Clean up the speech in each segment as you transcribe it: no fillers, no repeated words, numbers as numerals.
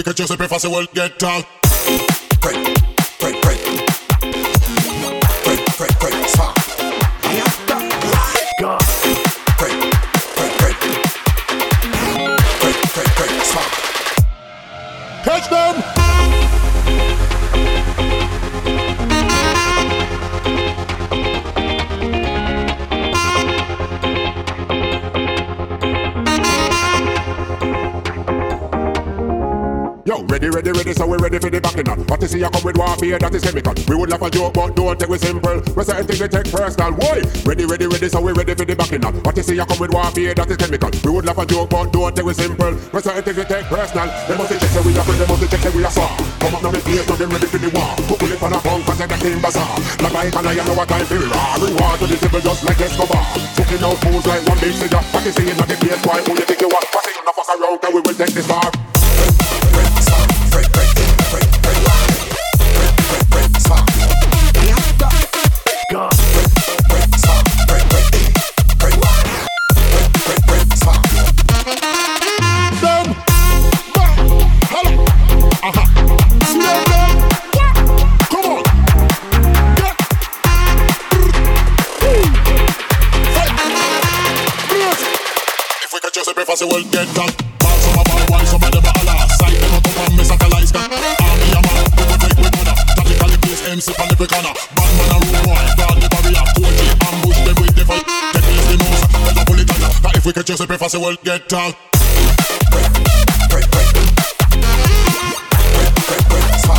que yo siempre fácil will get down. Break, break, break. Break, break, break, stop. Go. Break, break, break. Break, break, break, stop. Catch them! Yo, ready, ready, ready, so we ready for the backing up. What you see, you come with warfare, that is chemical. We would laugh a joke, but don't take it simple. We certain things we take personal. Why? Ready, ready, ready, so we ready for the backing up. What you see, you come with warfare, that is chemical. We would laugh a joke, but don't take it simple. We certain things we take personal. They must check that we are free, they must check that we are far. Come up now, me face, now they ready for the war. Put it on a punk, cause they got in bazaar. Like I and I know what time for raw. Reward to the table just like Escobar. Fucking out fools like one big cigar. What you see in the place, why? Who you think you want? What you not fuck around, cause we will take this far. Break, break, break, break, break, break, break, stop. Go. Break, stop. Break, break, break, break, break, stop. Them! Hello! Aha! Slow down! Come on! Get! If we catch you, c'est fácil will get down. Ball some of our wine, some of them are last. Side them up and miss a lights gun. Army a man, we will break with mother. Tactically place MC on every corner. Bad man a room boy, guard the barrier. 4G ambush them with the fight. Take place the nose, let the bullet on ya. That if we catch you, c'est fácil will get down. Break, break, break. Break, break, stop.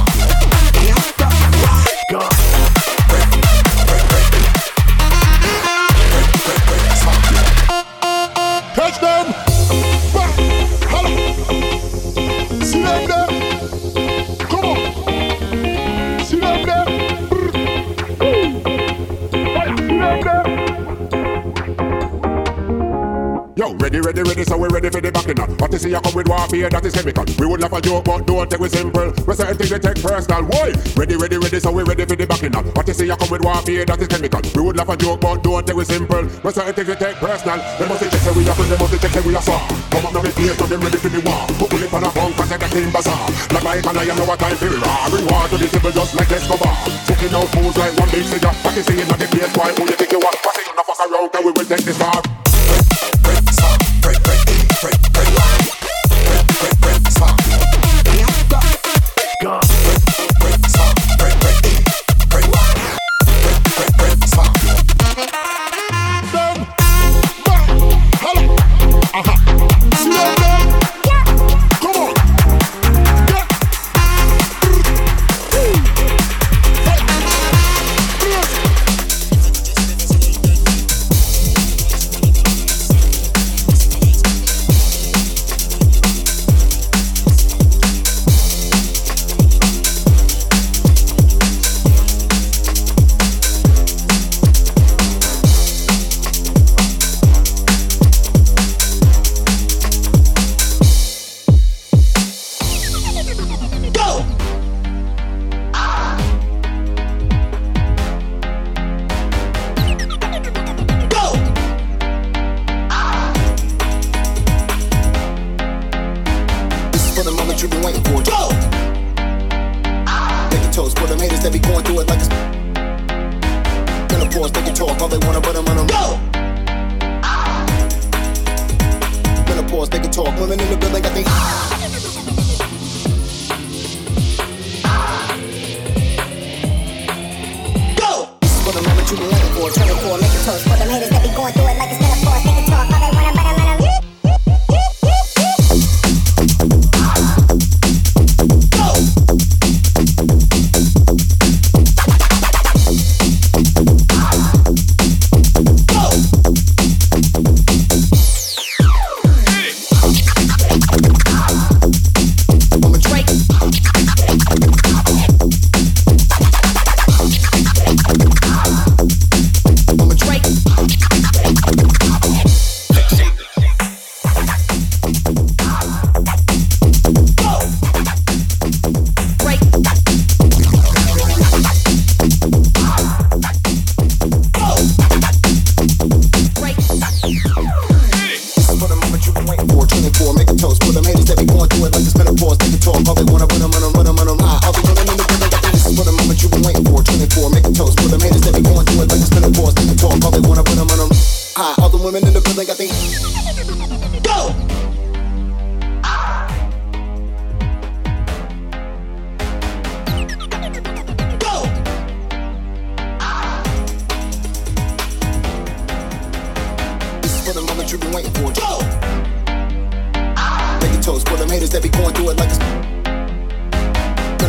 Go. Break, break, break. Break, break, break, stop. Catch them! Hello! See them there! Come on! See them there! See them there! Yo, ready, ready, ready, so we ready for the backing up. What you see, you come with warfare, that is chemical. We would laugh a joke, but don't take it simple. We certain things we take personal. Why? Ready, ready, ready, so we ready for the backing up. What you see, you come with warfare, that is chemical. We would laugh a joke, but don't take it simple. We certain things we take personal. They must check that we are free, they must check that we are far. Come up now, me face, now they ready for the war. Put it on a punk, cause they got in bazaar. Like I and I know what time for raw. Reward to the table just like Escobar. Fucking out fools like one big cigar. What you see in the place, why? Who you think you want? What you not fuck around, cause we will take this far. Break, stop. Break, break, break, break, break, break, stop. Go. Break, stop. Break, break, break, break, break, stop. Them! Hello! Aha! See them there! Come on! Get! You've been waiting for it. Go! Take your toes for them haters that be going through it like a gonna pause, they can talk all they wanna, but I'm on them. Go! Gonna pause, they can talk. Women in the building got they go! This is for the moment you've been waiting for. Turn it for, make your toes for them haters that be going through it like it's gonna pause, they can talk all they wanna, but I'm on them. I'm a Drake.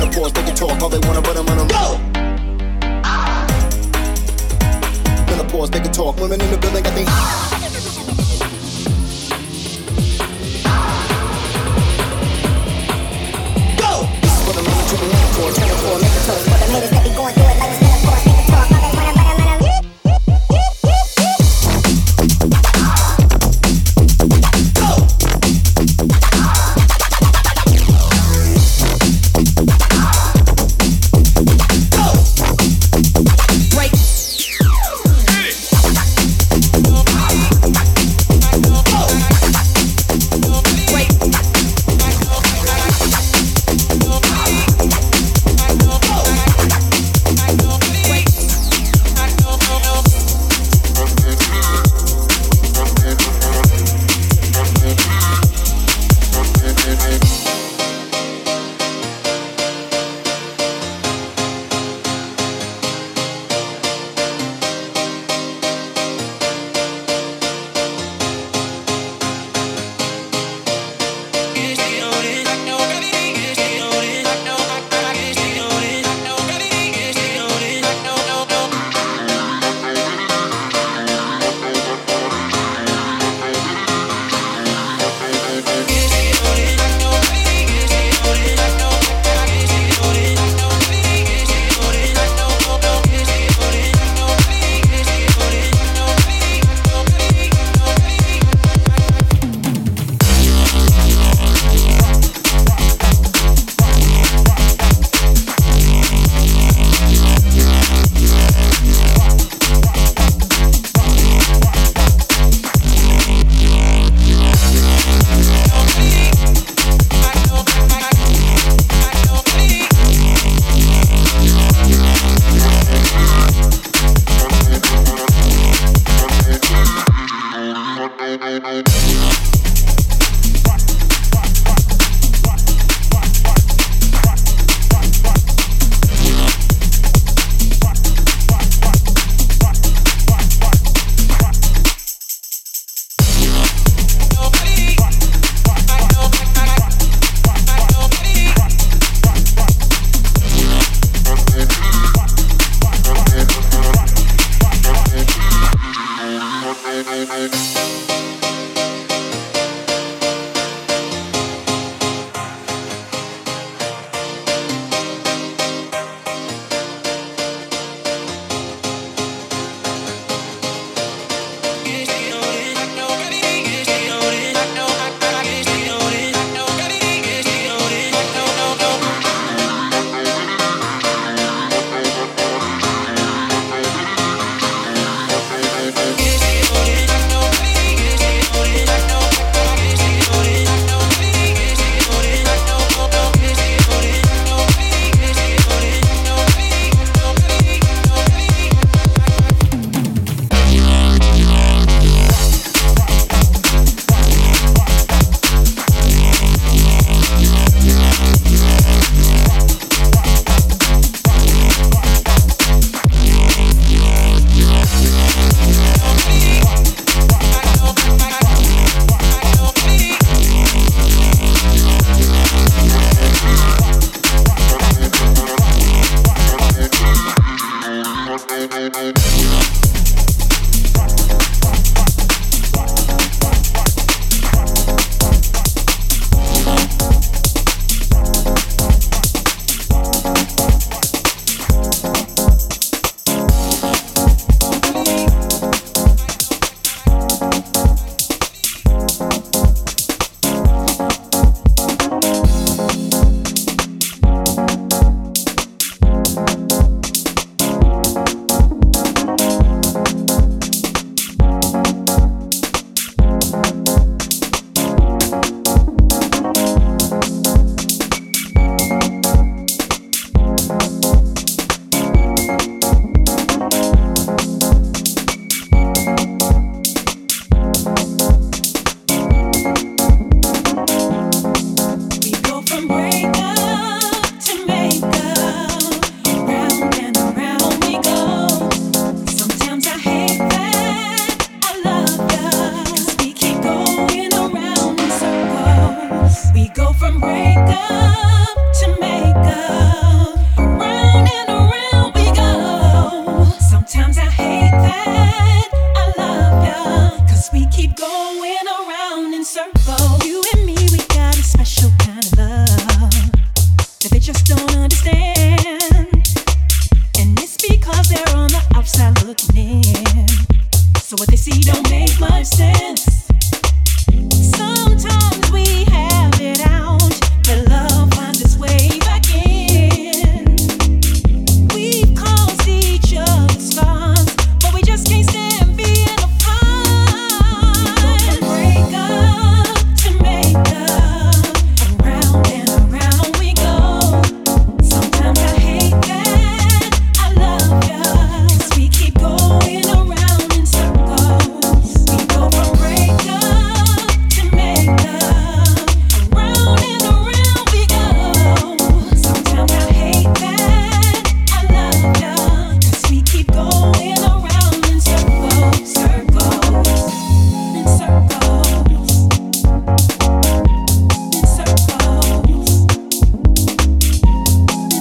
Menopause, they can talk all they wanna, but I'm on them. Go! Menopause, they can talk. Women in the building got they. Go! This is what I'm on to the menopause. Menopause, make a toast. For them haters that be going through it like it's menopause, they can talk all they wanna, but I'm on them. understand. And it's because they're on the outside looking in. So what they see don't make much sense. Sometimes we have it out, but love finds its way back in. We've caused each other scars, but we just can't stand being apart. Break up to make up, around and around we go. Sometimes I hate that I love ya, 'cause we keep going around in circles. We go from break up to make up, around and around we go. Sometimes I hate that I love ya, 'cause we keep going around in circles, circles, in circles, in circles, in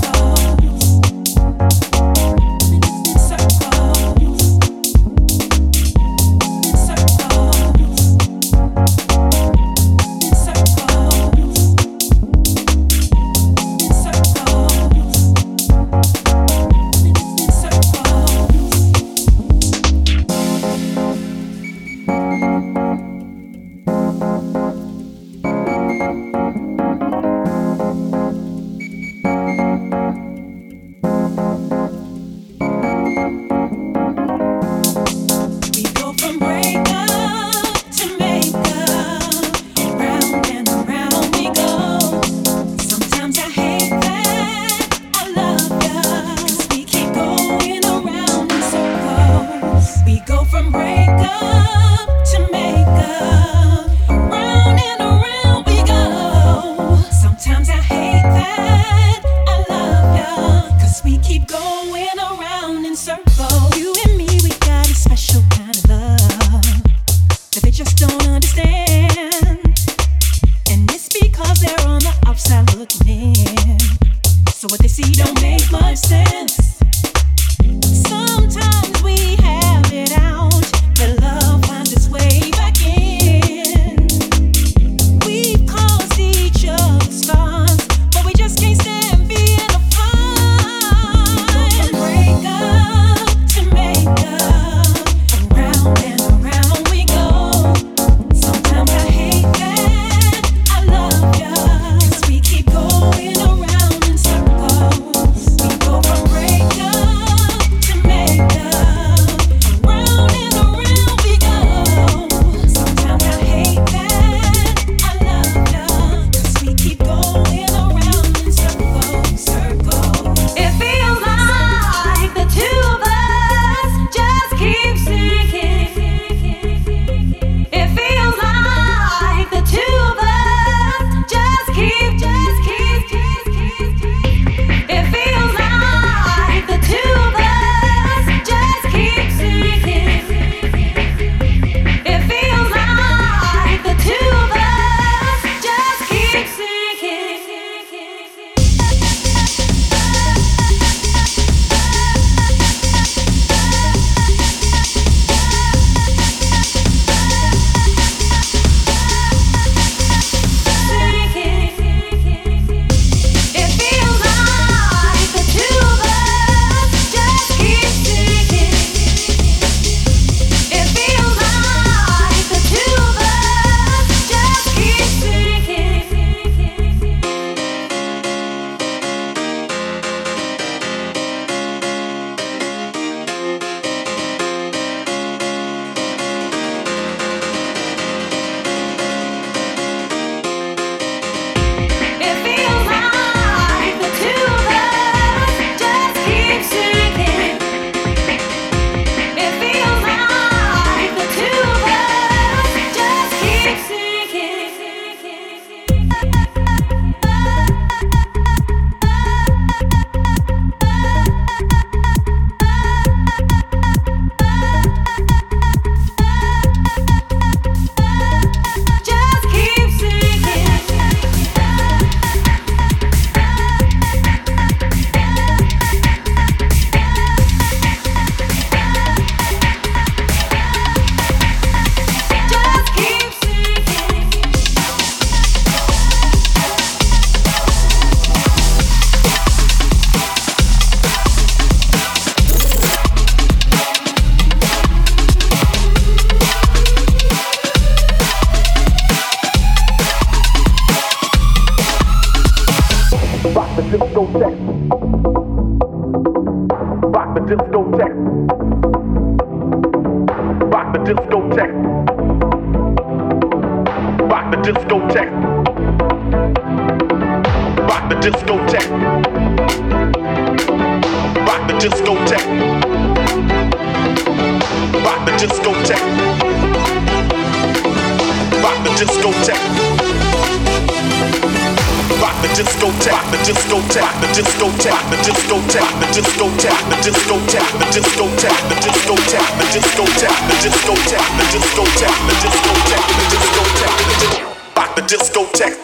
We go from break up to make up, round and around we go. Sometimes I hate that I love ya, 'cause we keep going around in circles. We go from break up to make up, round and around we go. Sometimes I hate that I love ya, 'cause we keep going around in circles. You and me, we got a special kind of love that they just don't understand. And it's because they're on the outside looking in. So what they see don't make much sense. Sometimes we have it out, but love finds its way back in. We've caused each other scars, but we just can't stand being apart. Break up to make up, around and around we go. Sometimes I hate that I love ya, 'cause we keep going around in circles. We go from break discotheque. Rock the discotheque. Rock the discotheque. Rock the discotheque. Rock the discotheque. Rock the discotheque. Rock the discotheque. Rock the discotheque. Rock the discotheque, the discotheque, the discotheque, the discotheque, the discotheque, the discotheque, the discotheque, the discotheque, the discotheque, the discotheque, the discotheque, the discotheque, the discotheque, rock the discotheque.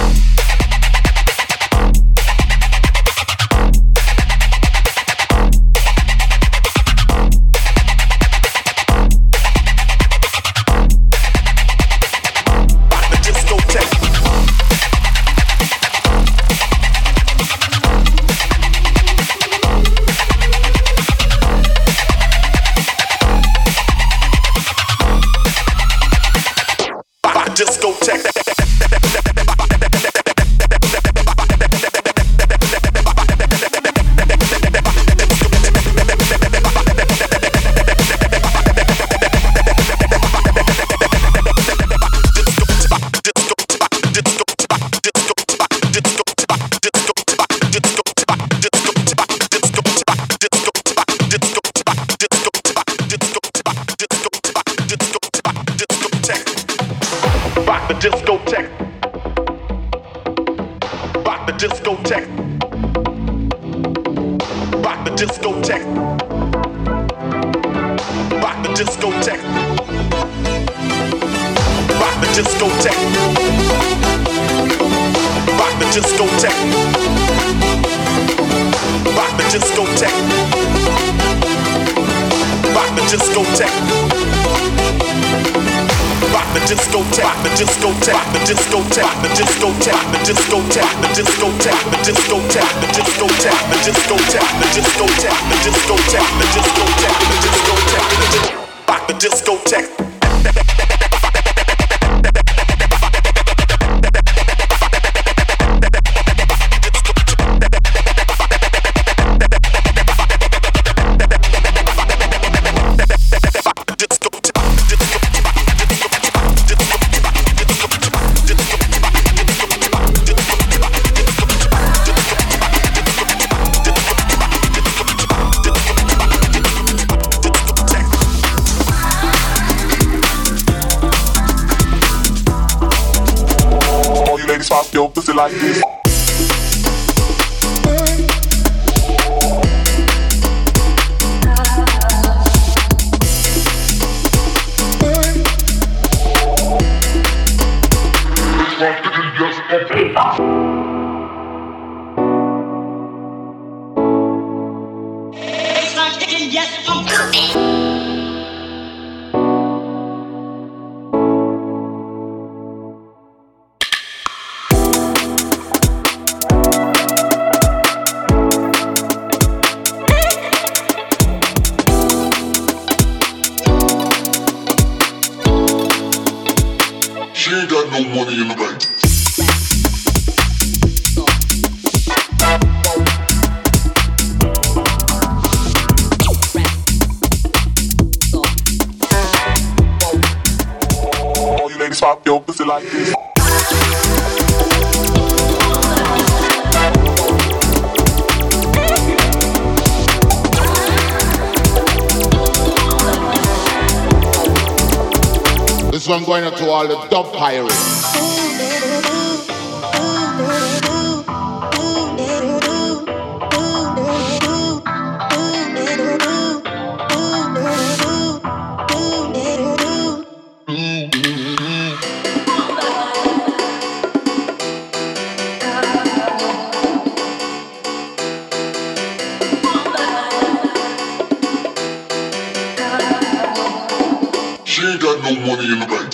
Discotheque. Rock the discotheque. Rock the discotheque. Rock the discotheque. Rock the discotheque. Rock the discotheque. Rock the discotheque. Rock the discotheque. Rock the discotheque, the discotheque, the discotheque, the discotheque, the discotheque, the discotheque, the discotheque, the discotheque, the discotheque, the discotheque, the discotheque, the discotheque, the discotheque, rock the discotheque. Pop your pussy like this. She ain't got no money in the bank. All you ladies pop your pussy like this. This one going out to all the dub pirates. She ain't got no money in the bank.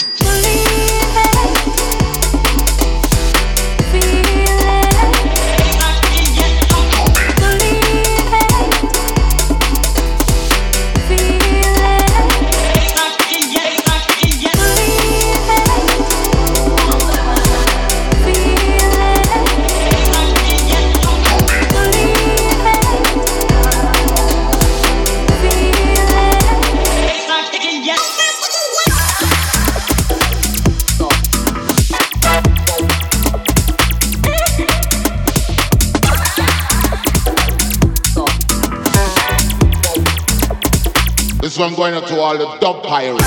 one going out to all the dub pirates.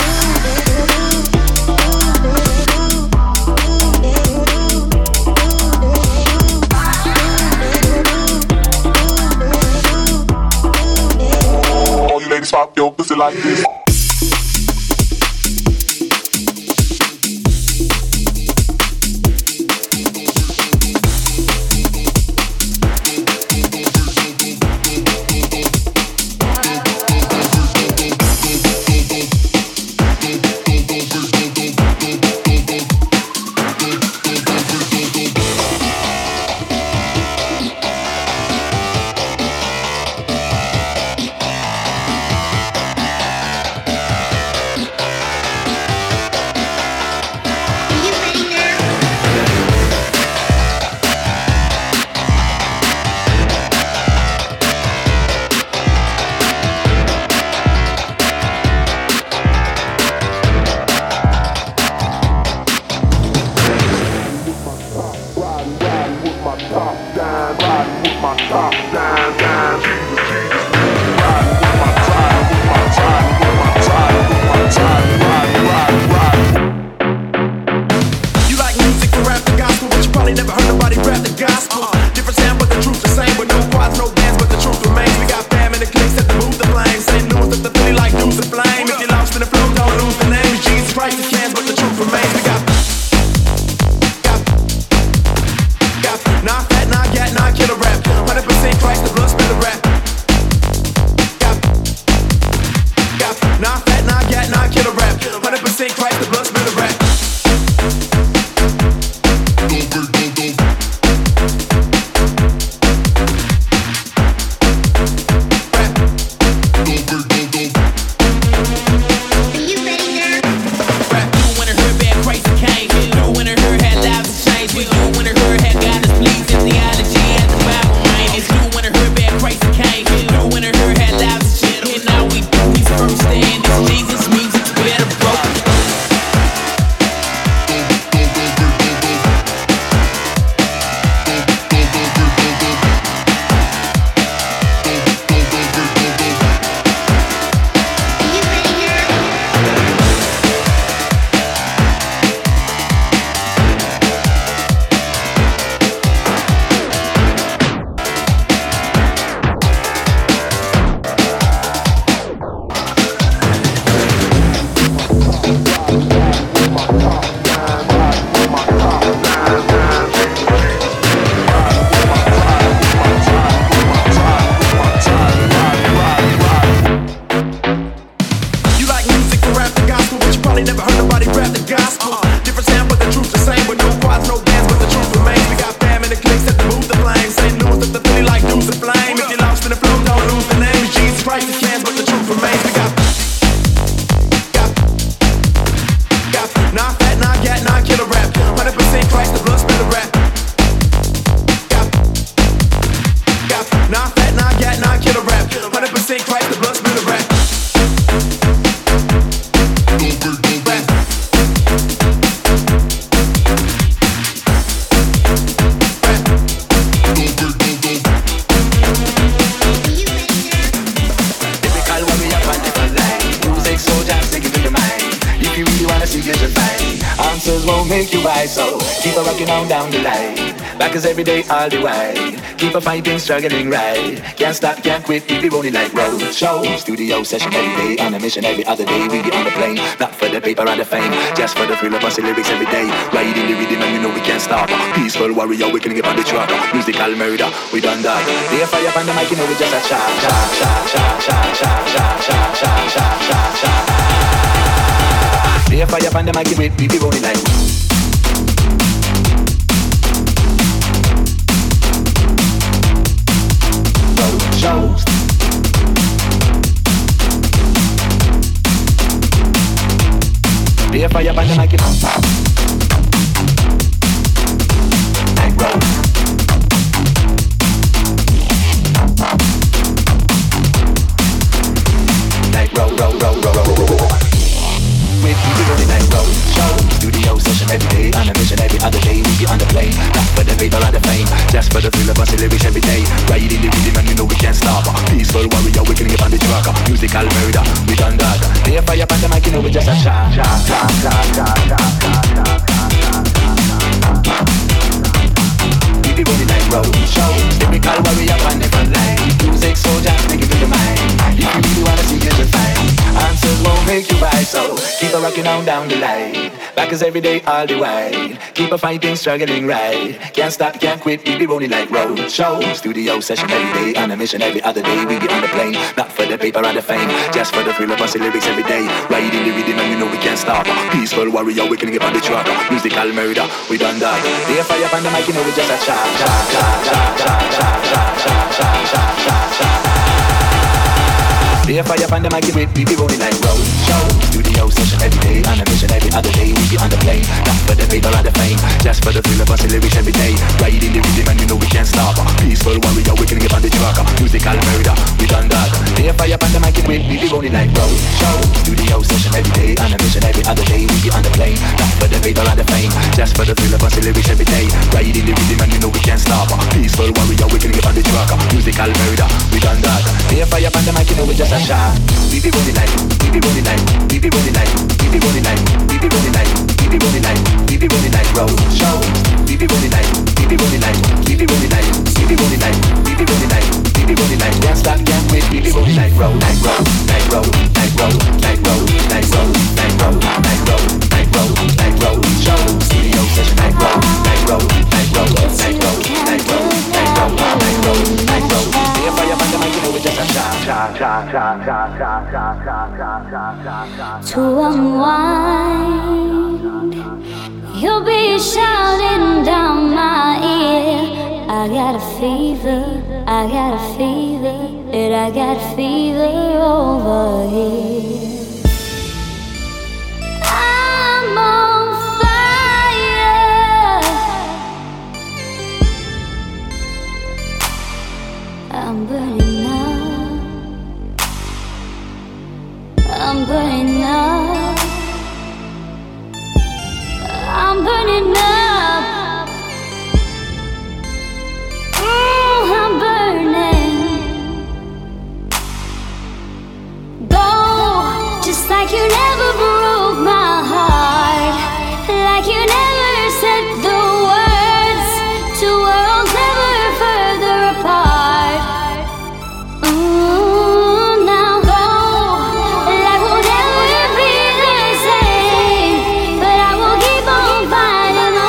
All you ladies pop your pussy like this. Every day, all the way. Keep a fighting, struggling right. Can't stop, can't quit, keep it rolling like road show. Studio session every day, on a mission every other day. We get on the plane, not for the paper or the fame, just for the thrill of us lyrics every day. Riding the rhythm and you know we can't stop. Peaceful warrior, we can get on the track. Musical murder, we done that. They fire up on the mic, you know we just a chop, chop, chop, chop, chop, chop, chop, chop, chop, chop, chop, chop. They fire up on the mic, we be rolling like. Shows. Be a fire by the mic, like roll. Like roll, roll, roll, roll, roll. With people rolling like roll. Show. Studio session every day, on a mission every other day. We be on the plane, not for the paper or the fame, just for the thrill of us lyrics every day. Riding the rhythm and you know we can't stop. Peaceful warrior, we can get on the track. Musical murder, we done that. They fire up on the mic, you know we just a shot. We be running like road show. Typical warrior on the front line. Music soldier, make it to the mind. If you really wanna see it, you'll find answers won't make you right, so keep a rocking on down the line. Back is every day, all the while. Keep a fighting, struggling right. Can't stop, can't quit, we be rolling like road show. Studio session every day, on a mission every other day. We be on the plane, not for the paper or the fame, just for the thrill of us lyrics every day. Riding the rhythm and you know we can't stop. Peaceful warrior, we can get on the track. Musical murder, we done that. They fire up on the mic, you know we just a chop. They fire up on the mic, we be rolling like road show. Studio session every day, on a mission every other day. We be on the plane, not for the paper or the fame, just for the thrill of us lyrics every day. Riding the rhythm and you know we can't stop. Peaceful warrior, we can get on the track. Musical murder, we done that. They fire up on the mic, we be rolling like road show. Studio session every day, on a mission every other day. We be on the plane, not for the paper or the fame, just for the thrill of us lyrics every day. Riding the rhythm and you know we can't stop. Peaceful warrior, we can get on the track. Musical murder, we done that. They fire up on the mic, you know we just a shot. We be rolling like, we be rolling like, we be rolling like, we be rolling like, we be rolling like, we be rolling like, we be rolling like road show. We be rolling like, we be rolling like, we be rolling like, we be rolling like, we be rolling like, we be rolling like. Can't stop, can't quit. We be rolling like road, like road, like road, like road, like road, like road, like road, like road, like road, like road show. Studio session like road, like road, like road, like road, like road, like road, like road, like road. They fire up on the mic, you know we just a shot. To unwind, you'll be shouting down my ear. I got a fever, I got a fever, and I got a fever over here. I'm on fire, I'm burning up, I'm burning up, I'm burning up. I'm burning. Go, just like you never broke my heart, like you never said the words, two worlds never further apart. Now go, life will never be the same, but I will keep on fighting my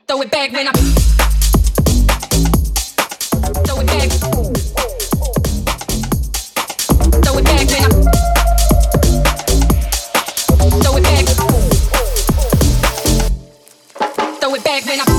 Throw it back when I throw it back. Throw it back when I throw it back. Throw it back when I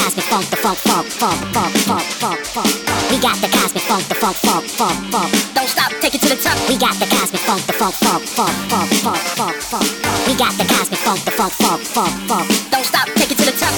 cosmic funk, the funk, funk, funk, funk, funk, funk, funk. We got the cosmic funk, the funk, funk, funk, funk. Don't stop, take it to the top. We got the cosmic funk, the funk, funk, funk, funk, funk, funk, funk. We got the cosmic funk, the funk, funk, funk, funk. Don't stop, take it to the top.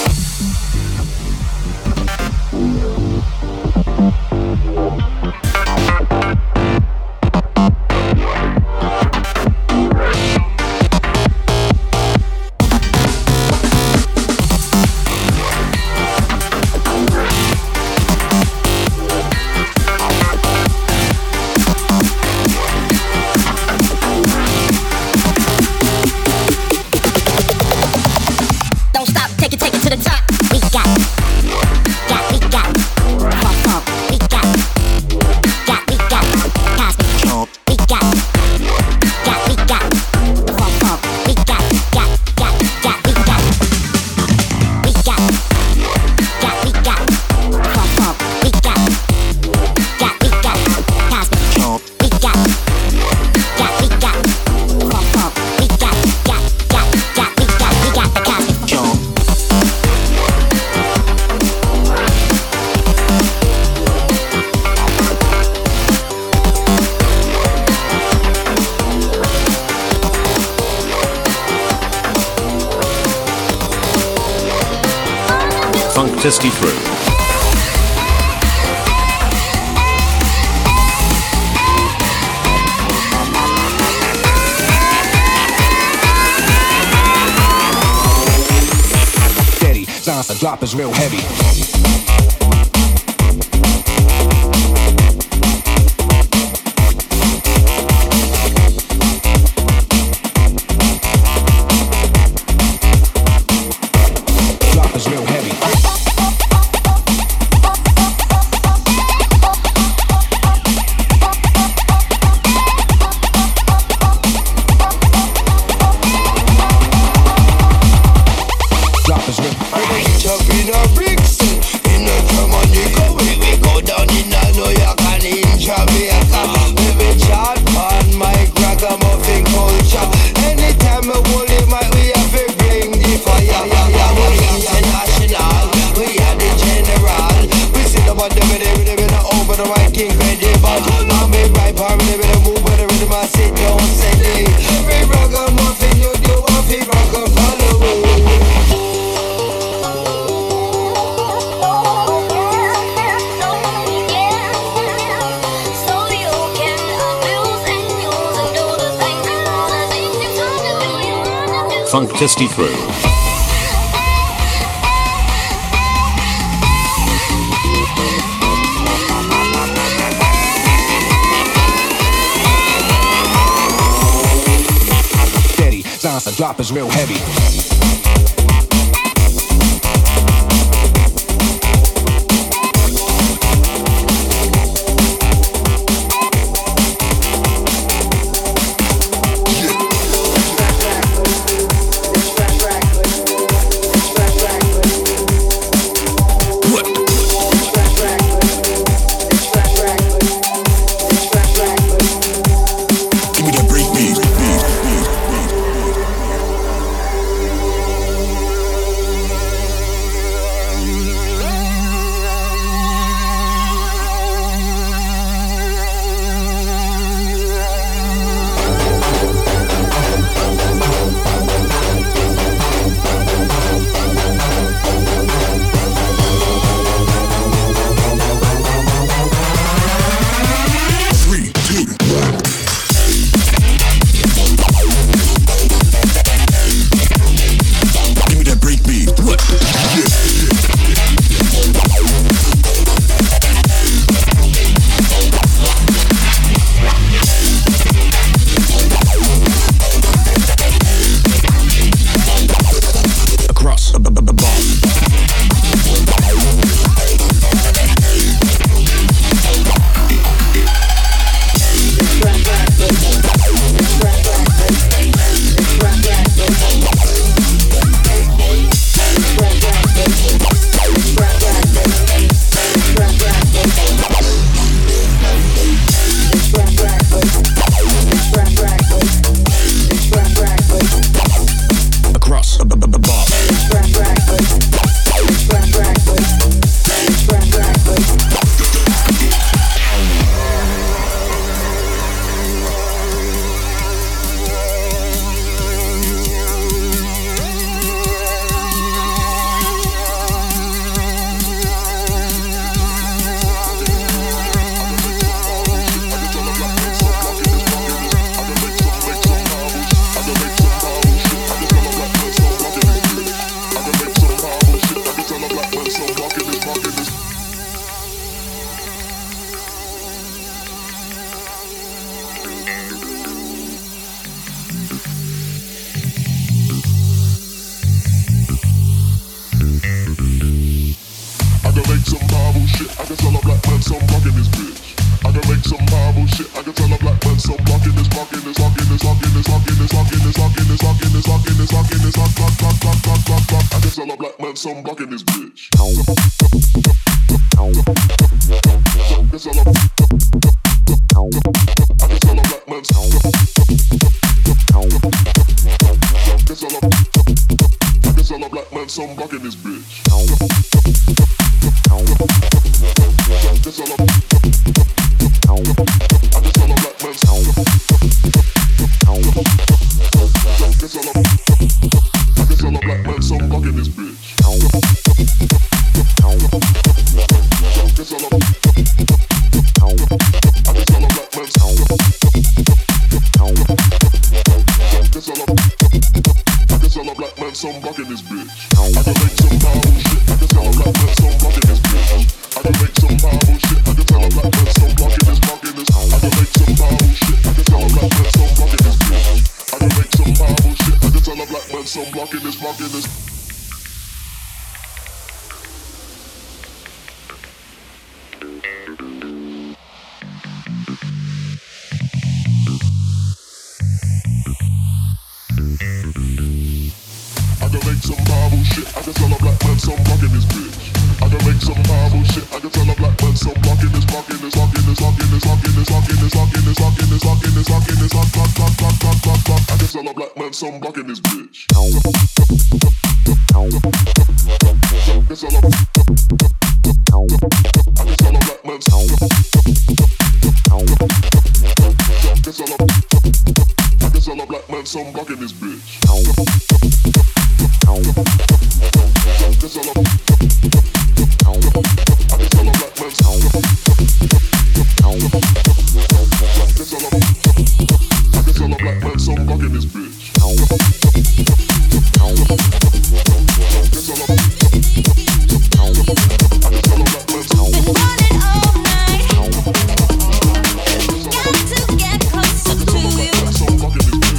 Funktasty Through. Steady, sounds the drop is real heavy. Drop is real heavy. Funktasty Through. Steady, sounds the drop is real heavy. shit. I can tell a black man some blocking this bitch. I can make some Bible shit. I can tell a black man some blocking this, blocking this, blocking this, blocking this, blocking this, blocking this, blocking this, blocking this, blocking this, blocking this, block, block, block, block, block, block, block. I can tell a black man some blocking this bitch. I can tell a black man some. I can tell a black man some blocking this bitch. Some buck in this bitch. I can make some Bible shit. I can tell a black man some buck in this bitch. I can make some Bible shit. I can tell a black man some buck in this, buck in this. I can make some Bible shit. I can tell a black man some buck in this bitch. I can make some Bible shit. I can tell a black man some buck in this, buck in this. I can make some Bible shit. I can tell a black man some block in this bitch. I can make some Bible shit. I can tell a black man some block in this, block in this, block in this, block in this, block in this, block in this, block in this, block in this, block in this, block in this, block, block, block, block, block, block, block. I can tell a black man some block in this bitch. I can tell a black man some. I can tell a black man some block in this bitch.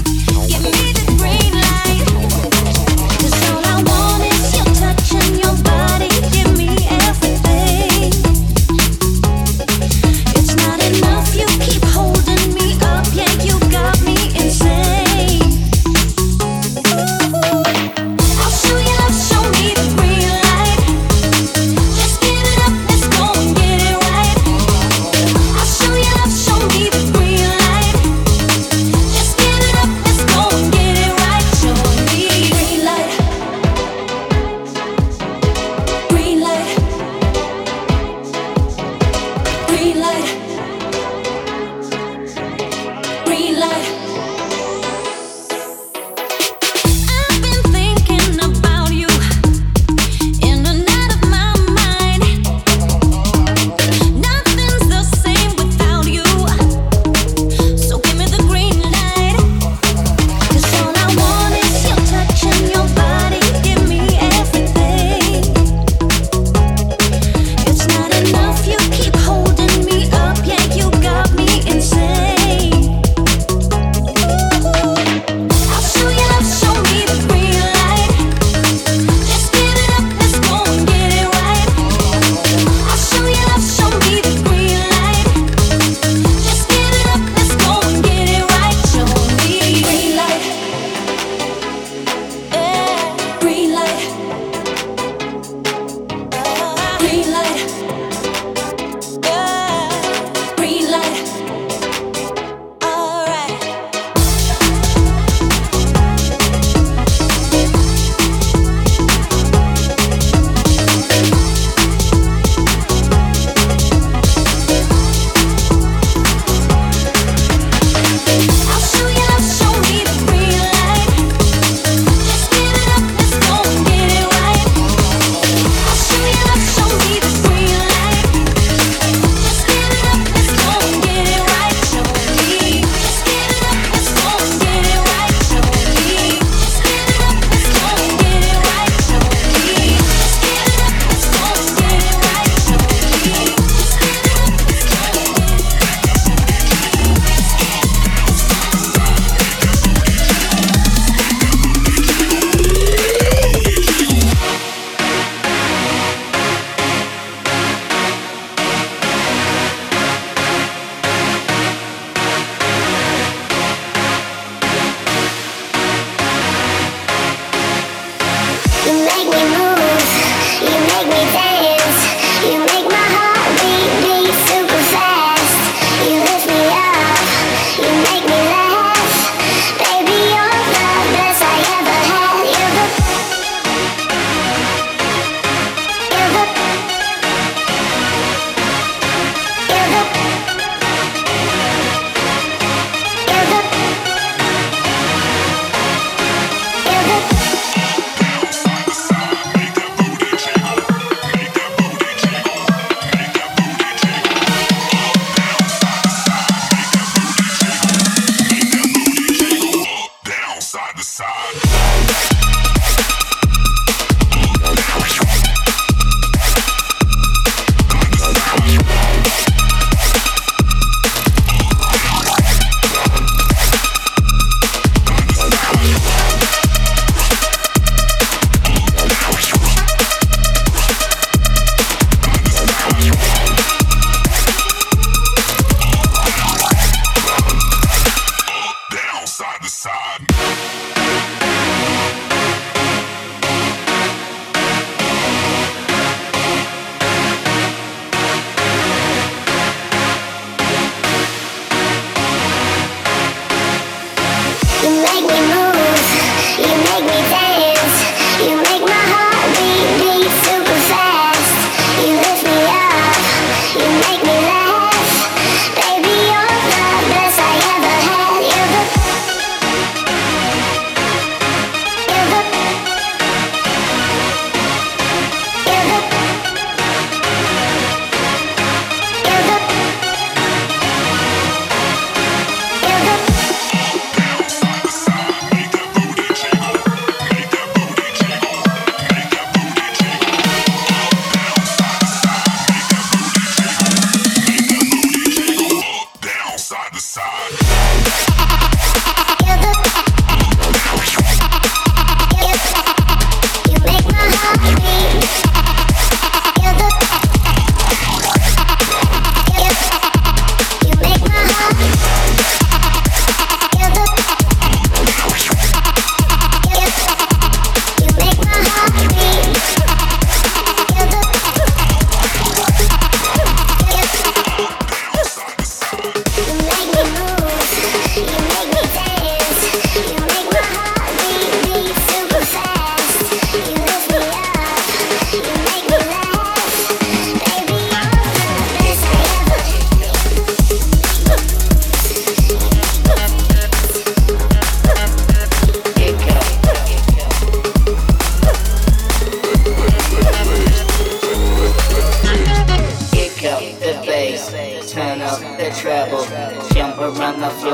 All I want is your touch and your body.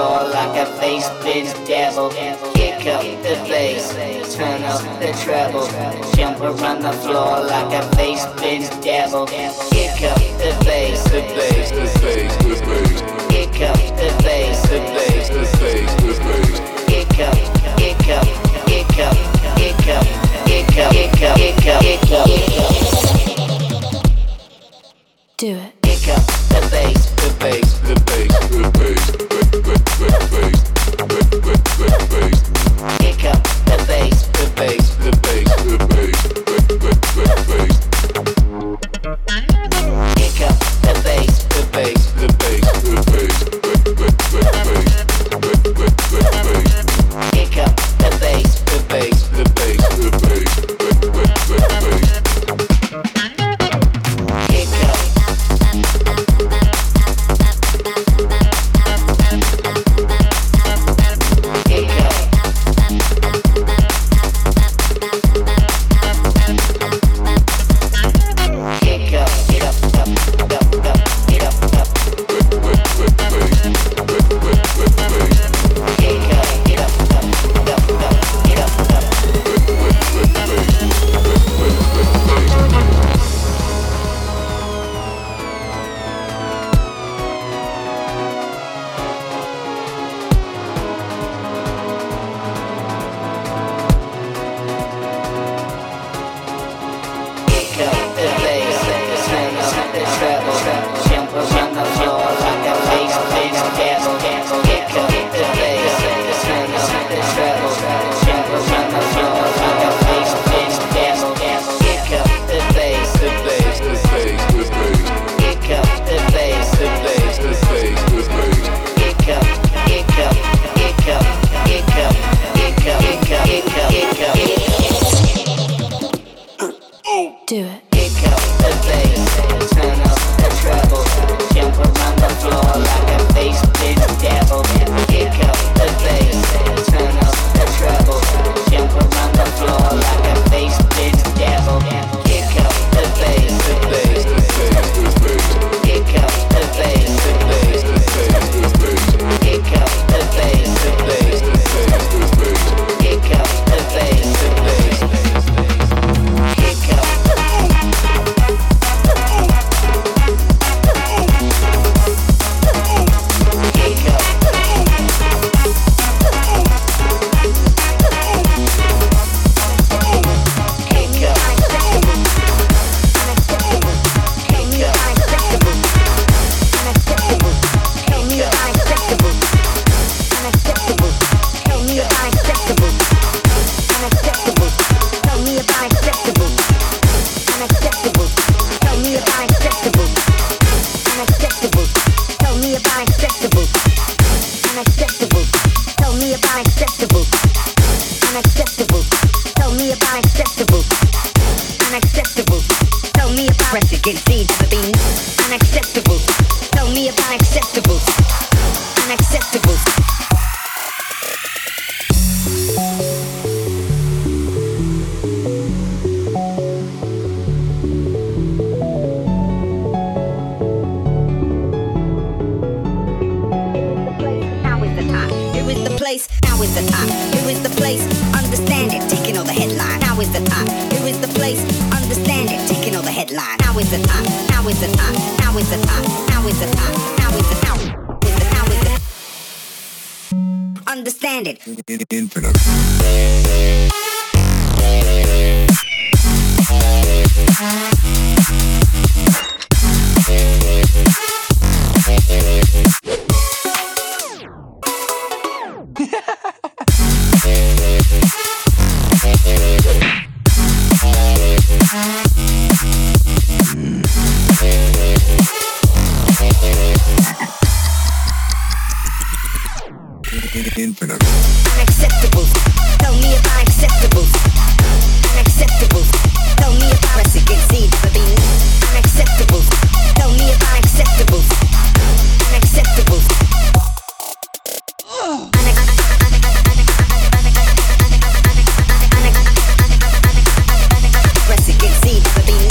floor like a face-bent devil. Kick up the bass, turn up the treble. Jump around the floor like a face-bent devil. Kick up the bass, the bass, the bass, the bass. Kick up the bass, the bass, the bass, the bass. Kick up, kick up, kick up, kick up, kick up, kick up, kick up, kick up, kick up. Do it. Kick up the bass, the bass, the bass, the bass, the bass, the bass. Kick up the bass, the bass, the bass, the bass, the bass. Kick up the bass, the bass, the bass, the bass, the bass. Kick up the bass, the bass, the bass, the bass, the bass. Kick up. Do it. Kick up the bass, turn up the treble, jump around the floor like a face-bent devil. Kick up the bass, turn up the treble, jump around the floor like a face-bent devil. Kick up the bass, the bass, the bass, the bass. Kick up the bass, the bass, the bass, the bass. Kick up the bass, the bass, the bass, the bass. Kick up the bass, the bass, the bass. Kick up. Understand it. Infinite. Infinite. Unacceptable. Tell me if I'm acceptable. Unacceptable. Tell me if I'm against seed for being unacceptable. Tell me if I'm acceptable. Unacceptable. Press against seed for being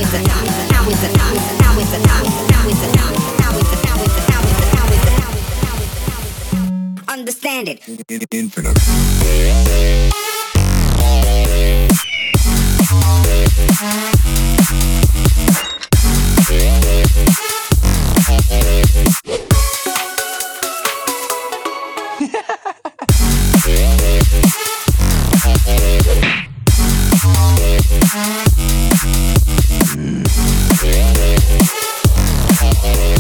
Understand it. Infinite.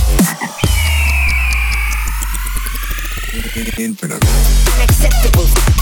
Infinite. Unacceptable.